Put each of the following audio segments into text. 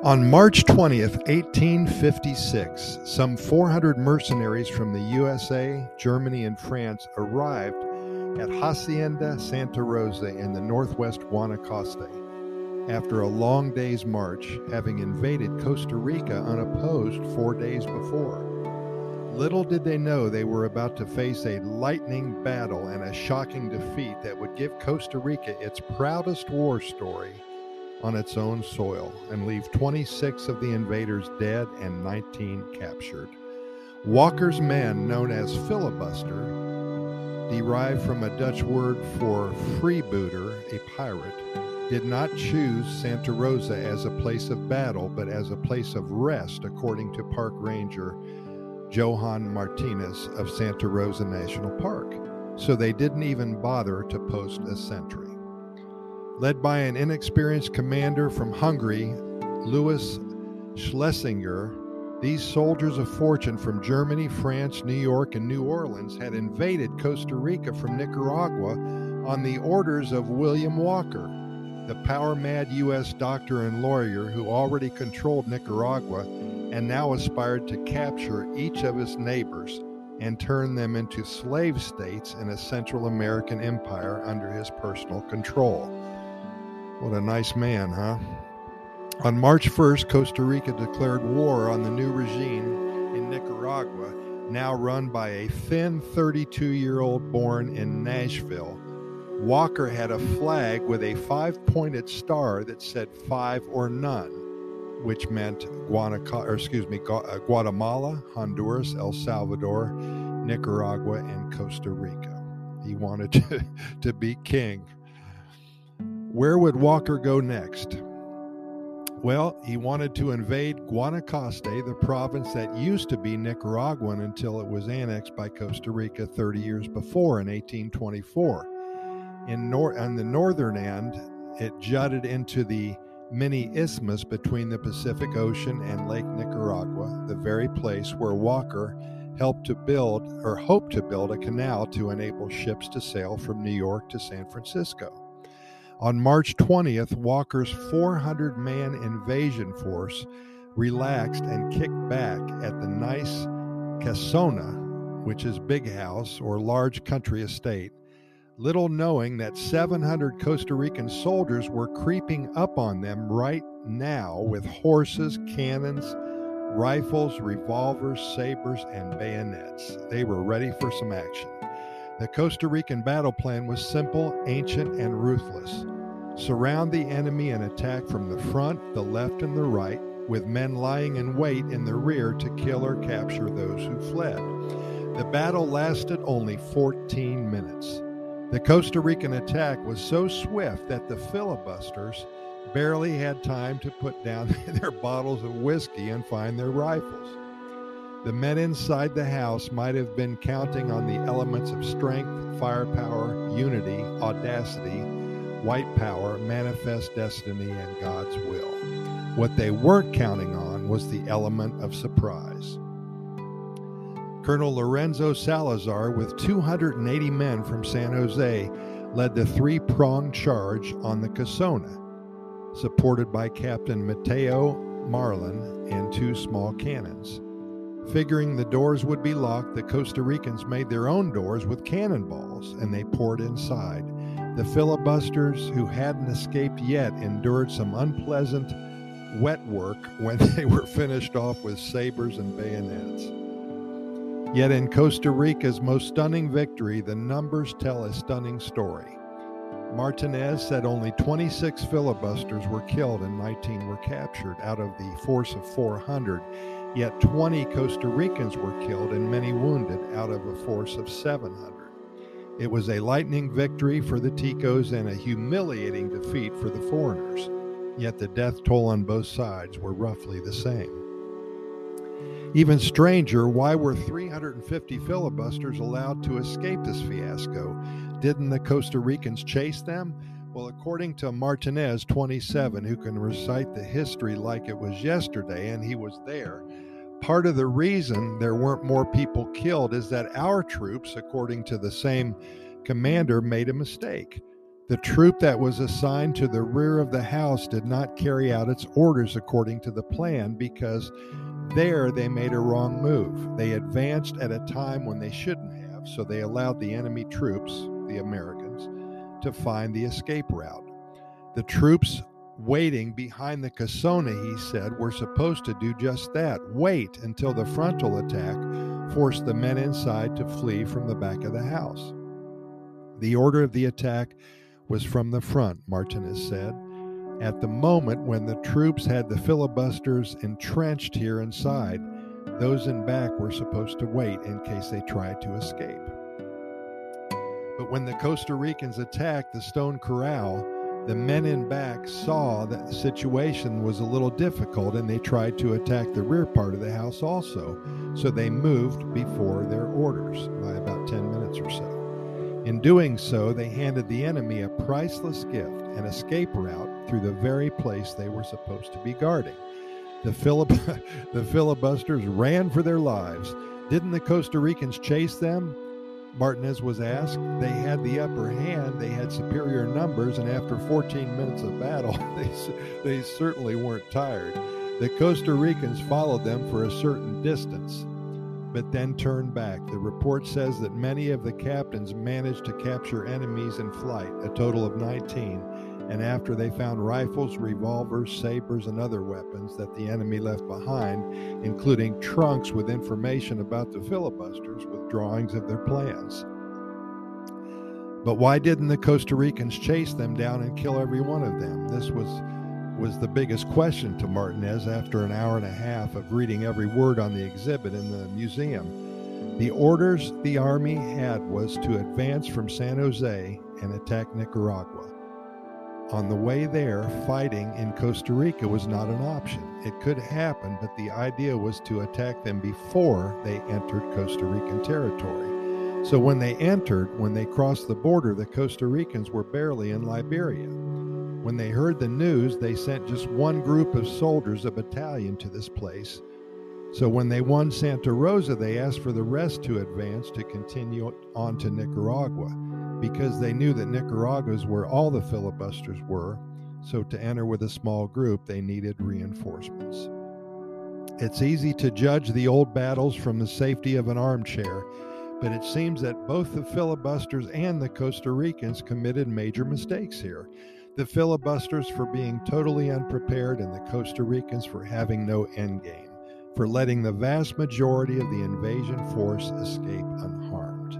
On March 20th, 1856, some 400 mercenaries from the USA, Germany, and France arrived at Hacienda Santa Rosa in the northwest Guanacaste after a long day's march, having invaded Costa Rica unopposed 4 days before. Little did they know they were about to face a lightning battle and a shocking defeat that would give Costa Rica its proudest war story on its own soil and leave 26 of the invaders dead and 19 captured. Walker's men, known as filibuster, derived from a Dutch word for freebooter, a pirate, did not choose Santa Rosa as a place of battle, but as a place of rest, according to park ranger Johan Martinez of Santa Rosa National Park. So they didn't even bother to post a sentry. Led by an inexperienced commander from Hungary, Louis Schlesinger, these soldiers of fortune from Germany, France, New York, and New Orleans had invaded Costa Rica from Nicaragua on the orders of William Walker, the power-mad U.S. doctor and lawyer who already controlled Nicaragua and now aspired to capture each of his neighbors and turn them into slave states in a Central American empire under his personal control. What a nice man, huh? On March 1st, Costa Rica declared war on the new regime in Nicaragua, now run by a thin 32-year-old born in Nashville. Walker had a flag with a 5-pointed star that said 5 or none, which meant Guatemala, Honduras, El Salvador, Nicaragua, and Costa Rica. He wanted to be king. Where would Walker go next? Well, he wanted to invade Guanacaste, the province that used to be Nicaraguan until it was annexed by Costa Rica 30 years before in 1824. On the northern end, it jutted into the mini isthmus between the Pacific Ocean and Lake Nicaragua, the very place where Walker hoped to build a canal to enable ships to sail from New York to San Francisco. On March 20th, Walker's 400-man invasion force relaxed and kicked back at the nice Casona, which is big house or large country estate, little knowing that 700 Costa Rican soldiers were creeping up on them right now with horses, cannons, rifles, revolvers, sabers, and bayonets. They were ready for some action. The Costa Rican battle plan was simple, ancient, and ruthless. Surround the enemy and attack from the front, the left, and the right, with men lying in wait in the rear to kill or capture those who fled. The battle lasted only 14 minutes. The Costa Rican attack was so swift that the filibusters barely had time to put down their bottles of whiskey and find their rifles. The men inside the house might have been counting on the elements of strength, firepower, unity, audacity, white power, manifest destiny, and God's will. What they weren't counting on was the element of surprise. Colonel Lorenzo Salazar, with 280 men from San Jose, led the three-pronged charge on the Casona, supported by Captain Mateo Marlin and 2 small cannons. Figuring the doors would be locked, the Costa Ricans made their own doors with cannonballs, and they poured inside. The filibusters, who hadn't escaped yet, endured some unpleasant wet work when they were finished off with sabers and bayonets. Yet in Costa Rica's most stunning victory, the numbers tell a stunning story. Martinez said only 26 filibusters were killed and 19 were captured out of the force of 400. Yet 20 Costa Ricans were killed and many wounded out of a force of 700. It was a lightning victory for the Ticos and a humiliating defeat for the foreigners. Yet the death toll on both sides were roughly the same. Even stranger, why were 350 filibusters allowed to escape this fiasco? Didn't the Costa Ricans chase them? Well, according to Martinez, 27, who can recite the history like it was yesterday, and he was there, part of the reason there weren't more people killed is that our troops, according to the same commander, made a mistake. The troop that was assigned to the rear of the house did not carry out its orders according to the plan because there they made a wrong move. They advanced at a time when they shouldn't have, so they allowed the enemy troops, the Americans, to find the escape route. The troops waiting behind the Casona, he said, were supposed to do just that. Wait until the frontal attack forced the men inside to flee from the back of the house. The order of the attack was from the front, Martinez said, at the moment when the troops had the filibusters entrenched here inside. Those in back were supposed to wait in case they tried to escape. But when the Costa Ricans attacked the stone corral, the men in back saw that the situation was a little difficult and they tried to attack the rear part of the house also. So they moved before their orders by about 10 minutes or so. In doing so, they handed the enemy a priceless gift, an escape route through the very place they were supposed to be guarding. The filibusters ran for their lives. Didn't the Costa Ricans chase them? Martinez was asked. They had the upper hand, they had superior numbers, and after 14 minutes of battle, they certainly weren't tired. The Costa Ricans followed them for a certain distance, but then turned back. The report says that many of the captains managed to capture enemies in flight, a total of 19, and after they found rifles, revolvers, sabers, and other weapons that the enemy left behind, including trunks with information about the filibusters with drawings of their plans. But why didn't the Costa Ricans chase them down and kill every one of them? This was the biggest question to Martinez after an hour and a half of reading every word on the exhibit in the museum. The orders the army had was to advance from San Jose and attack Nicaragua. On the way there, fighting in Costa Rica was not an option. It could happen, but the idea was to attack them before they entered Costa Rican territory. So when they crossed the border, the Costa Ricans were barely in Liberia. When they heard the news, they sent just one group of soldiers, a battalion, to this place. So when they won Santa Rosa, they asked for the rest to advance to continue on to Nicaragua, because they knew that Nicaragua is where all the filibusters were. So to enter with a small group, they needed reinforcements. It's easy to judge the old battles from the safety of an armchair, but it seems that both the filibusters and the Costa Ricans committed major mistakes here. The filibusters for being totally unprepared, and the Costa Ricans for having no endgame, for letting the vast majority of the invasion force escape unharmed.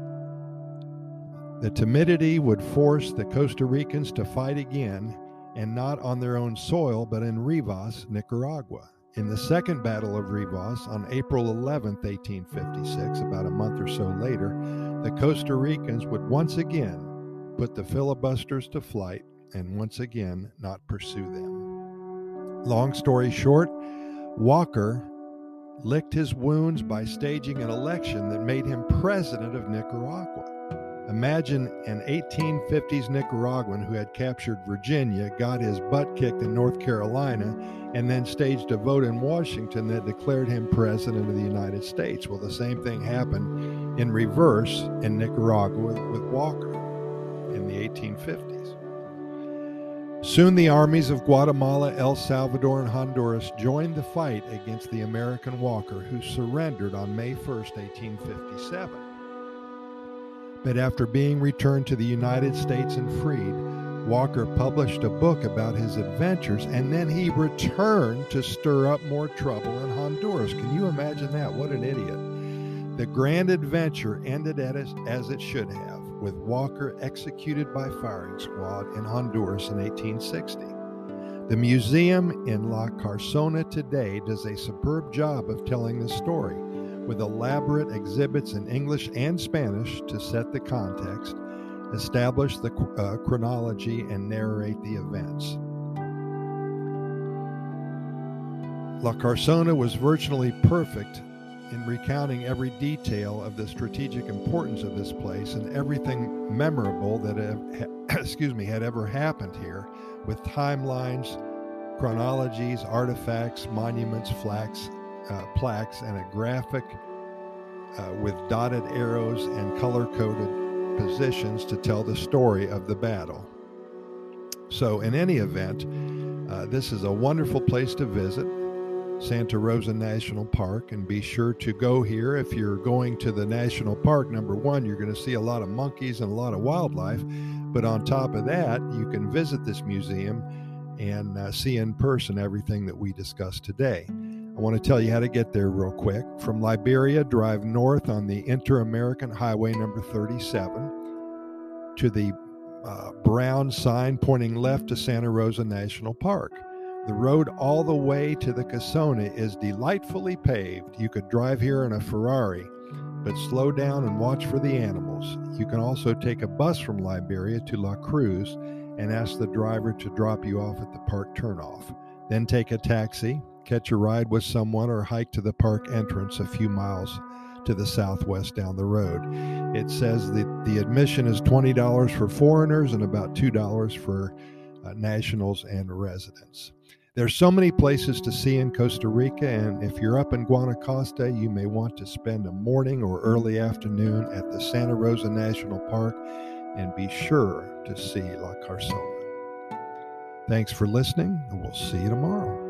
The timidity would force the Costa Ricans to fight again, and not on their own soil, but in Rivas, Nicaragua. In the Second Battle of Rivas, on April 11, 1856, about a month or so later, the Costa Ricans would once again put the filibusters to flight and once again not pursue them. Long story short, Walker licked his wounds by staging an election that made him president of Nicaragua. Imagine an 1850s Nicaraguan who had captured Virginia, got his butt kicked in North Carolina, and then staged a vote in Washington that declared him president of the United States. Well, the same thing happened in reverse in Nicaragua with Walker in the 1850s. Soon the armies of Guatemala, El Salvador, and Honduras joined the fight against the American Walker, who surrendered on May 1st, 1857. But after being returned to the United States and freed, Walker published a book about his adventures, and then he returned to stir up more trouble in Honduras. Can you imagine that? What an idiot. The grand adventure ended as it should have, with Walker executed by firing squad in Honduras in 1860. The museum in La Carsona today does a superb job of telling the story, with elaborate exhibits in English and Spanish to set the context, establish the chronology, and narrate the events. La Carsona was virtually perfect in recounting every detail of the strategic importance of this place and everything memorable that had ever happened here, with timelines, chronologies, artifacts, monuments, plaques, and a graphic with dotted arrows and color-coded positions to tell the story of the battle. So in any event, this is a wonderful place to visit, Santa Rosa National Park, and be sure to go here. If you're going to the national park, number one, you're going to see a lot of monkeys and a lot of wildlife, but on top of that, you can visit this museum and see in person everything that we discussed today. I want to tell you how to get there real quick. From Liberia, drive north on the Inter-American Highway number 37 to the brown sign pointing left to Santa Rosa National Park. The road all the way to the Casona is delightfully paved. You could drive here in a Ferrari, but slow down and watch for the animals. You can also take a bus from Liberia to La Cruz and ask the driver to drop you off at the park turnoff. Then take a taxi, catch a ride with someone, or hike to the park entrance a few miles to the southwest down the road. It says that the admission is $20 for foreigners and about $2 for nationals and residents. There's so many places to see in Costa Rica, and if you're up in Guanacaste, you may want to spend a morning or early afternoon at the Santa Rosa National Park, and be sure to see La Carzona. Thanks for listening, and we'll see you tomorrow.